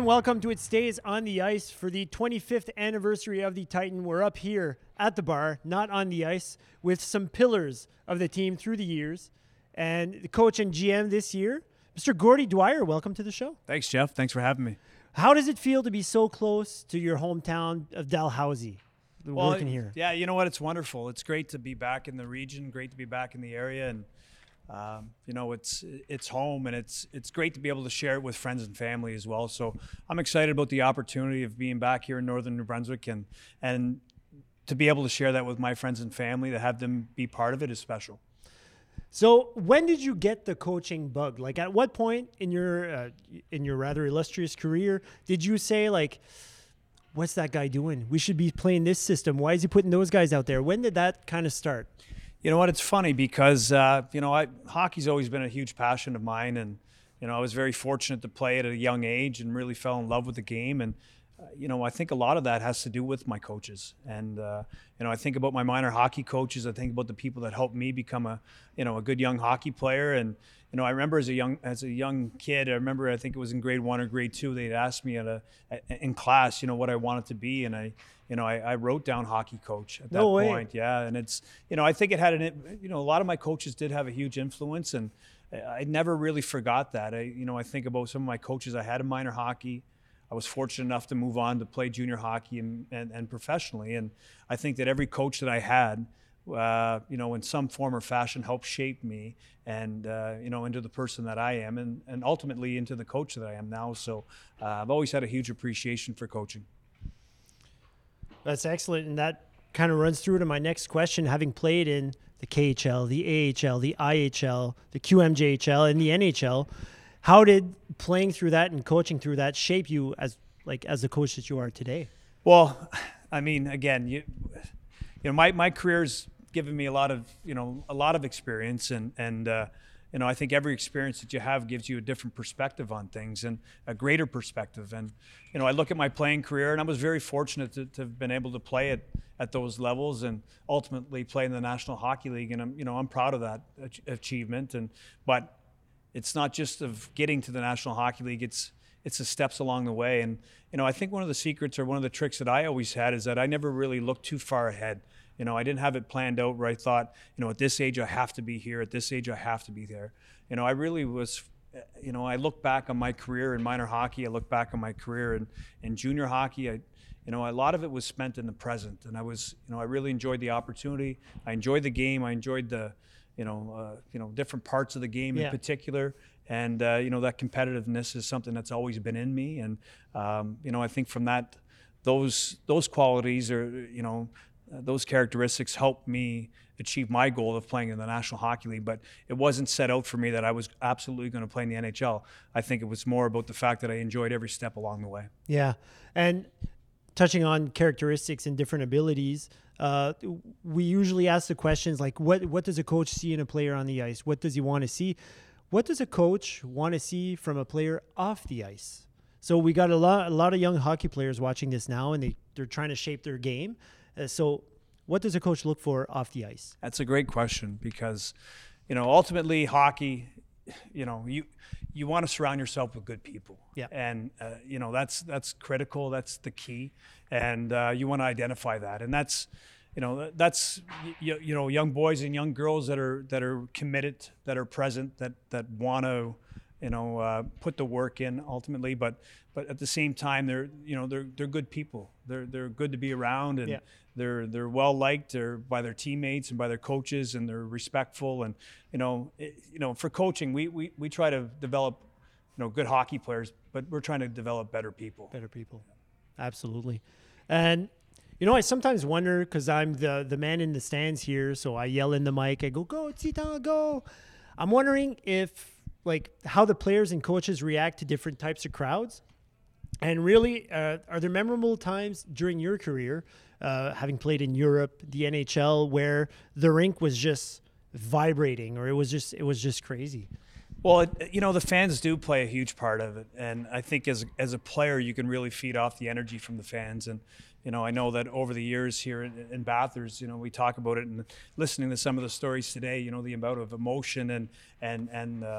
welcome to It Stays on the Ice for the 25th anniversary of the Titan. We're up here at the bar, not on the ice, with some pillars of the team through the years. And the coach and GM this year, Mr. Gordie Dwyer, welcome to the show. Thanks, Jeff. Thanks for having me. How does it feel to be so close to your hometown of Dalhousie, working here? Yeah, you know what? It's wonderful. It's great to be back in the region, great to be back in the area, and it's home, and it's great to be able to share it with friends and family as well. So I'm excited about the opportunity of being back here in northern New Brunswick, and to be able to share that with my friends and family, to have them be part of it is special. So when did you get the coaching bug? Like, at what point in your rather illustrious career did you say, like, what's that guy doing? We should be playing this system. Why is he putting those guys out there? When did that kind of start? You know what? It's funny because, hockey's always been a huge passion of mine. And, I was very fortunate to play at a young age and really fell in love with the game. And, I think a lot of that has to do with my coaches. And, I think about my minor hockey coaches. I think about the people that helped me become a good young hockey player. And, I remember as a young kid, I think it was in grade 1 or grade 2, they'd asked me in class, what I wanted to be. And I wrote down hockey coach at that point. Yeah. And it's, I think it had a lot of my coaches did have a huge influence, and I never really forgot that. I think about some of my coaches I had in minor hockey. I was fortunate enough to move on to play junior hockey and professionally. And I think that every coach that I had, in some form or fashion helped shape me and, into the person that I am and ultimately into the coach that I am now. So I've always had a huge appreciation for coaching. That's excellent. And that kind of runs through to my next question. Having played in the KHL, the AHL, the IHL, the QMJHL, and the NHL, how did playing through that and coaching through that shape you as the coach that you are today? Well, I mean, again, my career's given me a lot of experience, and I think every experience that you have gives you a different perspective on things and a greater perspective. And I look at my playing career, and I was very fortunate to have been able to play at those levels and ultimately play in the National Hockey League. And I'm proud of that achievement. But it's not just of getting to the National Hockey League. It's the steps along the way. And I think one of the secrets or one of the tricks that I always had is that I never really looked too far ahead. I didn't have it planned out where I thought, at this age I have to be here, at this age I have to be there. I really was, I look back on my career in minor hockey, I look back on my career in junior hockey. A lot of it was spent in the present, and I really enjoyed the opportunity. I enjoyed the game. I enjoyed the, different parts of the game in particular. And, that competitiveness is something that's always been in me. And, I think from that, those qualities are, those characteristics helped me achieve my goal of playing in the National Hockey League. But it wasn't set out for me that I was absolutely going to play in the NHL. I think it was more about the fact that I enjoyed every step along the way. Yeah. And touching on characteristics and different abilities, we usually ask the questions like, what does a coach see in a player on the ice? What does he want to see? What does a coach want to see from a player off the ice? So we got a lot of young hockey players watching this now, and they're trying to shape their game. So what does a coach look for off the ice? That's a great question because, ultimately hockey, you want to surround yourself with good people. Yeah. And, that's critical. That's the key. And you want to identify that. And that's young boys and young girls that are committed, that are present, that want to, put the work in ultimately, but at the same time, they're good people. They're good to be around, and they're well liked by their teammates and by their coaches, and they're respectful. And for coaching, we try to develop good hockey players, but we're trying to develop better people. Absolutely. And I sometimes wonder, because I'm the man in the stands here, so I yell in the mic, I go Tsita, go. I'm wondering if how the players and coaches react to different types of crowds. And really, are there memorable times during your career, having played in Europe, the NHL, where the rink was just vibrating, or it was just crazy? Well, the fans do play a huge part of it. And I think as a player, you can really feed off the energy from the fans. And, I know that over the years here in Bathurst, we talk about it, and listening to some of the stories today, the amount of emotion and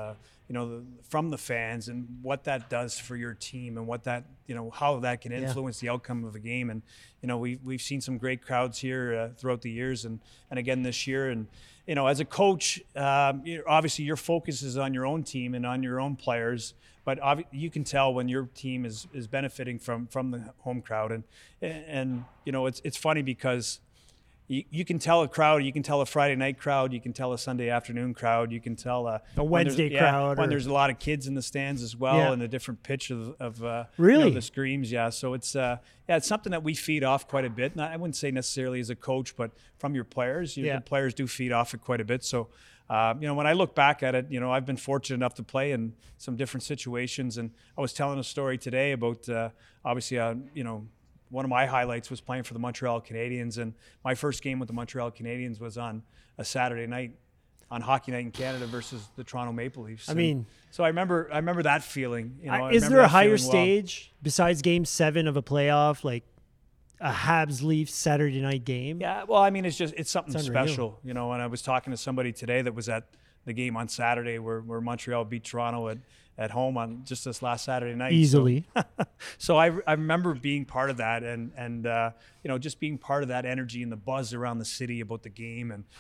from the fans and what that does for your team and what that, how that can influence the outcome of a game. And, we've seen some great crowds here throughout the years and again this year. And, as a coach, obviously your focus is on your own team and on your own players, but you can tell when your team is benefiting from the home crowd. And it's funny because you can tell a crowd, you can tell a Friday night crowd, you can tell a Sunday afternoon crowd, you can tell a Wednesday crowd. When there's a lot of kids in the stands as well, and a different pitch of really the screams. Yeah, so it's it's something that we feed off quite a bit. And I wouldn't say necessarily as a coach, but from your players, the players do feed off it quite a bit. So when I look back at it, I've been fortunate enough to play in some different situations, and I was telling a story today about obviously one of my highlights was playing for the Montreal Canadiens, and my first game with the Montreal Canadiens was on a Saturday night on Hockey Night in Canada versus the Toronto Maple Leafs. So I remember that feeling. Is there a higher stage besides Game 7 of a playoff, like a Habs Leafs Saturday night game? Yeah, well, it's something special, And I was talking to somebody today that was at the game on Saturday where Montreal beat Toronto at home on just this last Saturday night. Easily. So I remember being part of that and just being part of that energy and the buzz around the city about the game. And,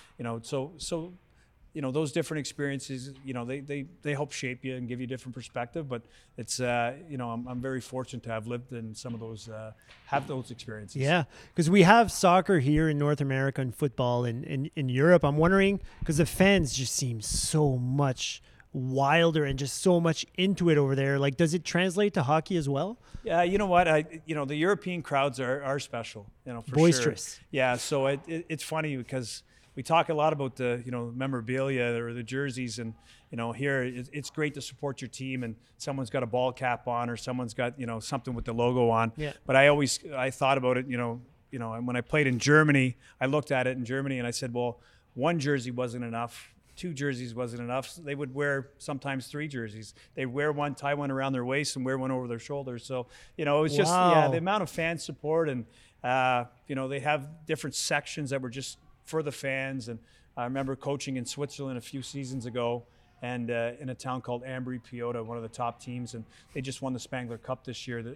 so those different experiences, they help shape you and give you a different perspective. But it's, I'm very fortunate to have lived in some of those, have those experiences. Yeah, because we have soccer here in North America and football in Europe. I'm wondering, because the fans just seem so much wilder and just so much into it over there. Like, does it translate to hockey as well? Yeah, you know what? The European crowds are special, for boisterous. Sure. Yeah, so it's funny because we talk a lot about the memorabilia or the jerseys, and here it's great to support your team, and someone's got a ball cap on or someone's got something with the logo on. Yeah. But I thought about it, and when I played in Germany, I looked at it in Germany and I said, well, one jersey wasn't enough. 2 jerseys wasn't enough. So they would wear sometimes 3 jerseys. They'd wear one, tie one around their waist, and wear one over their shoulders. So, it was just the amount of fan support, and they have different sections that were just for the fans. And I remember coaching in Switzerland a few seasons ago, and in a town called Ambri-Piotta, one of the top teams, and they just won the Spangler Cup this year.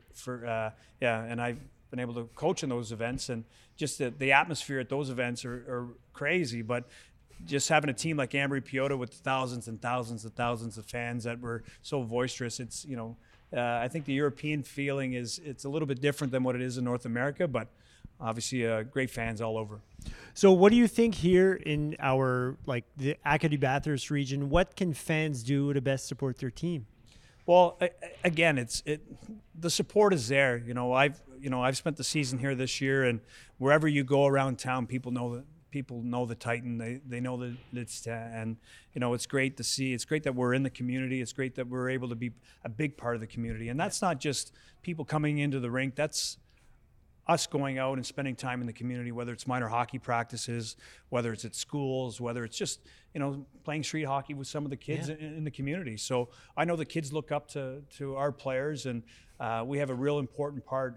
And I've been able to coach in those events, and just the atmosphere at those events are crazy, but just having a team like Ambri-Piotta with thousands and thousands and thousands of fans that were so boisterous, it's I think the European feeling it's a little bit different than what it is in North America, but obviously great fans all over. So what do you think here in our the Acadie Bathurst region? What can fans do to best support their team? Well, again, the support is there. I've spent the season here this year, and wherever you go around town, people know the Titan. They know that it's and it's great to see. It's great that we're in the community. It's great that we're able to be a big part of the community. And that's not just people coming into the rink. That's us going out and spending time in the community, whether it's minor hockey practices, whether it's at schools, whether it's just playing street hockey with some of the kids in the community. So I know the kids look up to our players, and we have a real important part,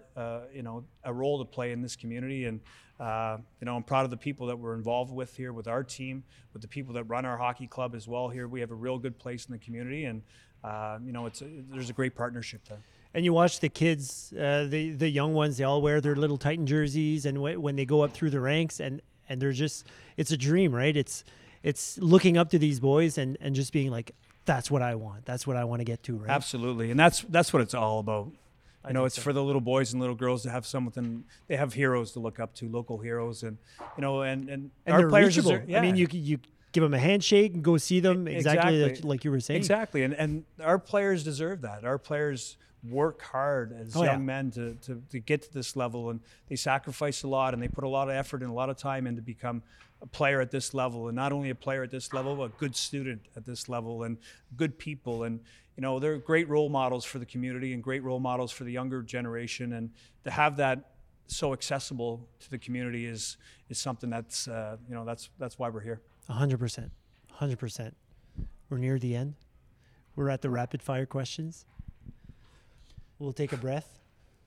a role to play in this community. And I'm proud of the people that we're involved with here with our team, with the people that run our hockey club as well here. We have a real good place in the community, and there's a great partnership there. And you watch the kids, the young ones, they all wear their little Titan jerseys, and when they go up through the ranks, and they're just, it's a dream, right? It's looking up to these boys and just being like, that's what I want. That's what I want to get to, right? Absolutely. And that's what it's all about. It's so. For the little boys and little girls to have something. They have heroes to look up to, local heroes, and our players reachable. Yeah. I mean, you give them a handshake and go see them exactly. Like you were saying. Exactly, and our players deserve that. Our players work hard as young men to get to this level, and they sacrifice a lot, and they put a lot of effort and a lot of time in to become a player at this level, and not only a player at this level, but a good student at this level, and good people. And they're great role models for the community and great role models for the younger generation, and to have that so accessible to the community is something that's that's why we're here. 100%. We're near the end. We're at the rapid fire questions. We'll take a breath.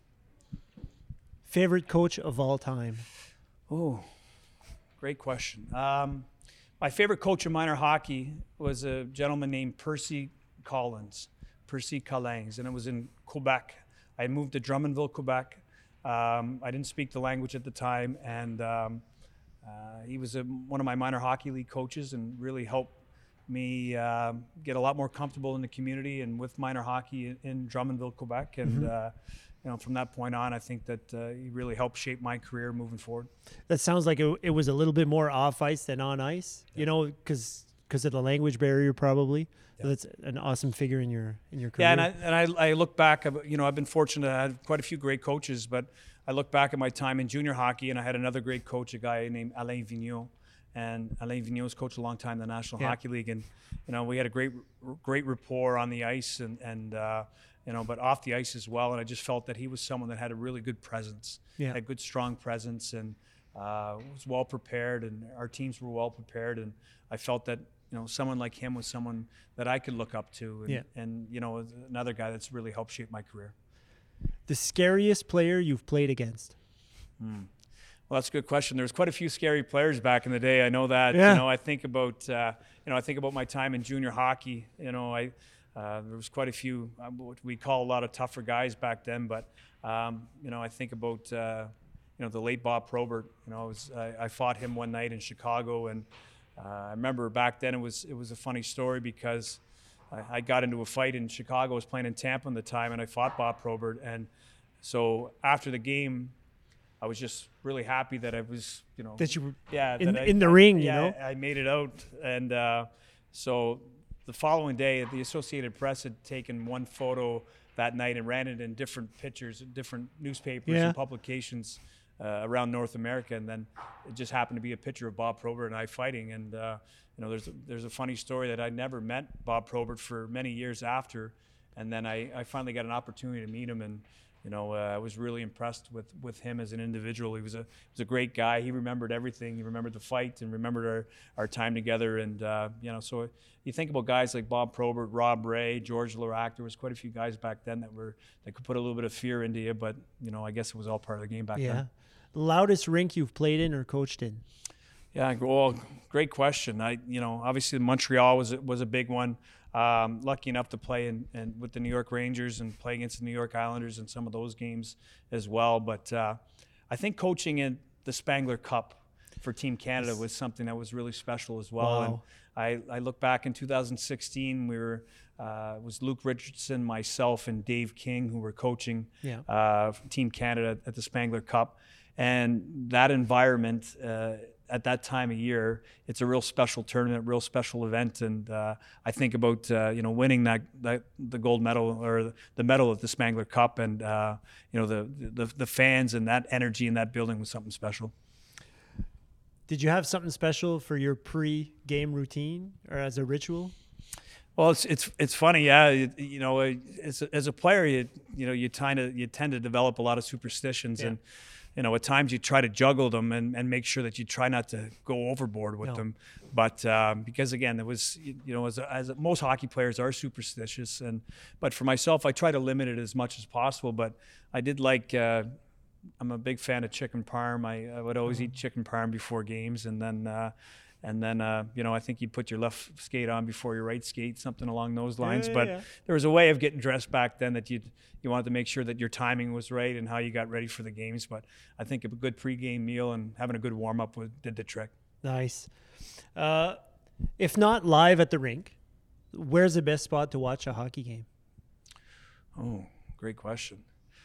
Favorite coach of all time? Oh, great question. My favorite coach in minor hockey was a gentleman named Percy Collins, Percy Collins, and it was in Quebec. I had moved to Drummondville, Quebec. I didn't speak the language at the time, and he was one of my minor hockey league coaches and really helped me get a lot more comfortable in the community and with minor hockey in Drummondville, Quebec. And from that point on, I think that he really helped shape my career moving forward. That sounds like it was a little bit more off ice than on ice, because of the language barrier, probably. Yeah. So that's an awesome figure in your career. Yeah, and I look back. I've been fortunate. I had quite a few great coaches, but I look back at my time in junior hockey, and I had another great coach, a guy named Alain Vigneault. And Alain Vigneault's coached a long time in the National Hockey League, and we had a great rapport on the ice, and but off the ice as well. And I just felt that he was someone that had a really good presence, had good strong presence, and was well prepared, and our teams were well prepared. And I felt that someone like him was someone that I could look up to, and another guy that's really helped shape my career. The scariest player you've played against? Well, that's a good question. There was quite a few scary players back in the day. I know that. Yeah. I think about my time in junior hockey. There was quite a few what we call a lot of tougher guys back then. But I think about the late Bob Probert. I fought him one night in Chicago, and I remember back then it was a funny story because I got into a fight in Chicago. I was playing in Tampa at the time, and I fought Bob Probert. And so after the game, I was just really happy that I was, that you were in the ring. I made it out, and so the following day, the Associated Press had taken one photo that night and ran it in different pictures, different newspapers and publications around North America, and then it just happened to be a picture of Bob Probert and I fighting. And there's a funny story that I never met Bob Probert for many years after, and then I finally got an opportunity to meet him, and I was really impressed with him as an individual. He was a great guy. He remembered everything. He remembered the fight and remembered our time together. And so you think about guys like Bob Probert, Rob Ray, George Larac. There was quite a few guys back then that could put a little bit of fear into you. But I guess it was all part of the game back then. Yeah. Loudest rink you've played in or coached in? Yeah. Well, great question. Obviously Montreal was a big one. Lucky enough to play with the New York Rangers and play against the New York Islanders in some of those games as well. But I think coaching in the Spangler Cup for Team Canada was something that was really special as well. Wow. And I look back in 2016, it was Luke Richardson, myself, and Dave King who were coaching Team Canada at the Spangler Cup. And that environment, at that time of year, it's a real special tournament, real special event, and I think about winning the gold medal or the medal at the Spangler Cup, and the fans and that energy in that building was something special. Did you have something special for your pre-game routine or as a ritual? Well, it's funny, yeah. As a player, you tend to develop a lot of superstitions, and at times you try to juggle them and make sure that you try not to go overboard with them. But because again, it was, as most hockey players are superstitious, but for myself, I try to limit it as much as possible. But I did like, I'm a big fan of chicken parm. I would always eat chicken parm before games, and then I think you'd put your left skate on before your right skate, something along those lines. There was a way of getting dressed back then that you wanted to make sure that your timing was right and how you got ready for the games. But I think a good pregame meal and having a good warm-up did the trick. Nice. If not live at the rink, where's the best spot to watch a hockey game? Oh, great question.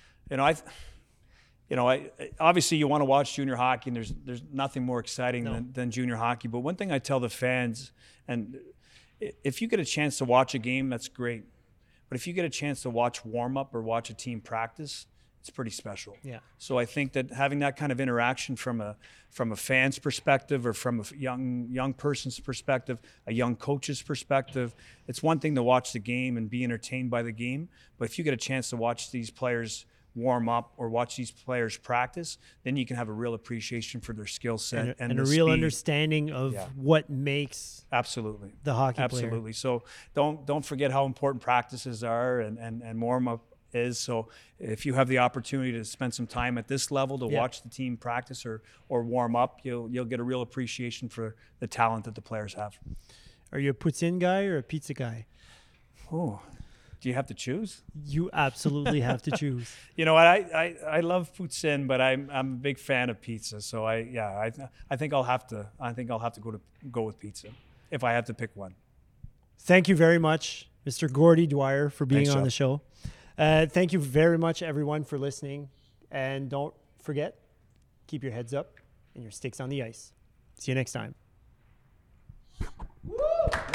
Obviously you want to watch junior hockey, and there's nothing more exciting than junior hockey. But one thing I tell the fans, and if you get a chance to watch a game, that's great. But if you get a chance to watch warm-up or watch a team practice, it's pretty special. Yeah. So I think that having that kind of interaction from a fan's perspective or from a young person's perspective, a young coach's perspective, it's one thing to watch the game and be entertained by the game. But if you get a chance to watch these players warm up or watch these players practice, then you can have a real appreciation for their skill set and a real understanding of what makes the hockey player. Absolutely. So don't forget how important practices are and warm up is. So if you have the opportunity to spend some time at this level to watch the team practice or warm up, you'll get a real appreciation for the talent that the players have. Are you a puts in guy or a pizza guy? Oh, do you have to choose? You absolutely have to choose. You know what? I love poutine, but I'm a big fan of pizza. So I think I'll have to go with pizza if I have to pick one. Thank you very much, Mr. Gordy Dwyer, for being Thanks, on Joe. the show. Thank you very much, everyone, for listening. And don't forget, keep your heads up and your sticks on the ice. See you next time.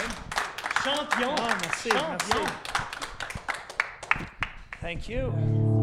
Champion. Merci. Thank you.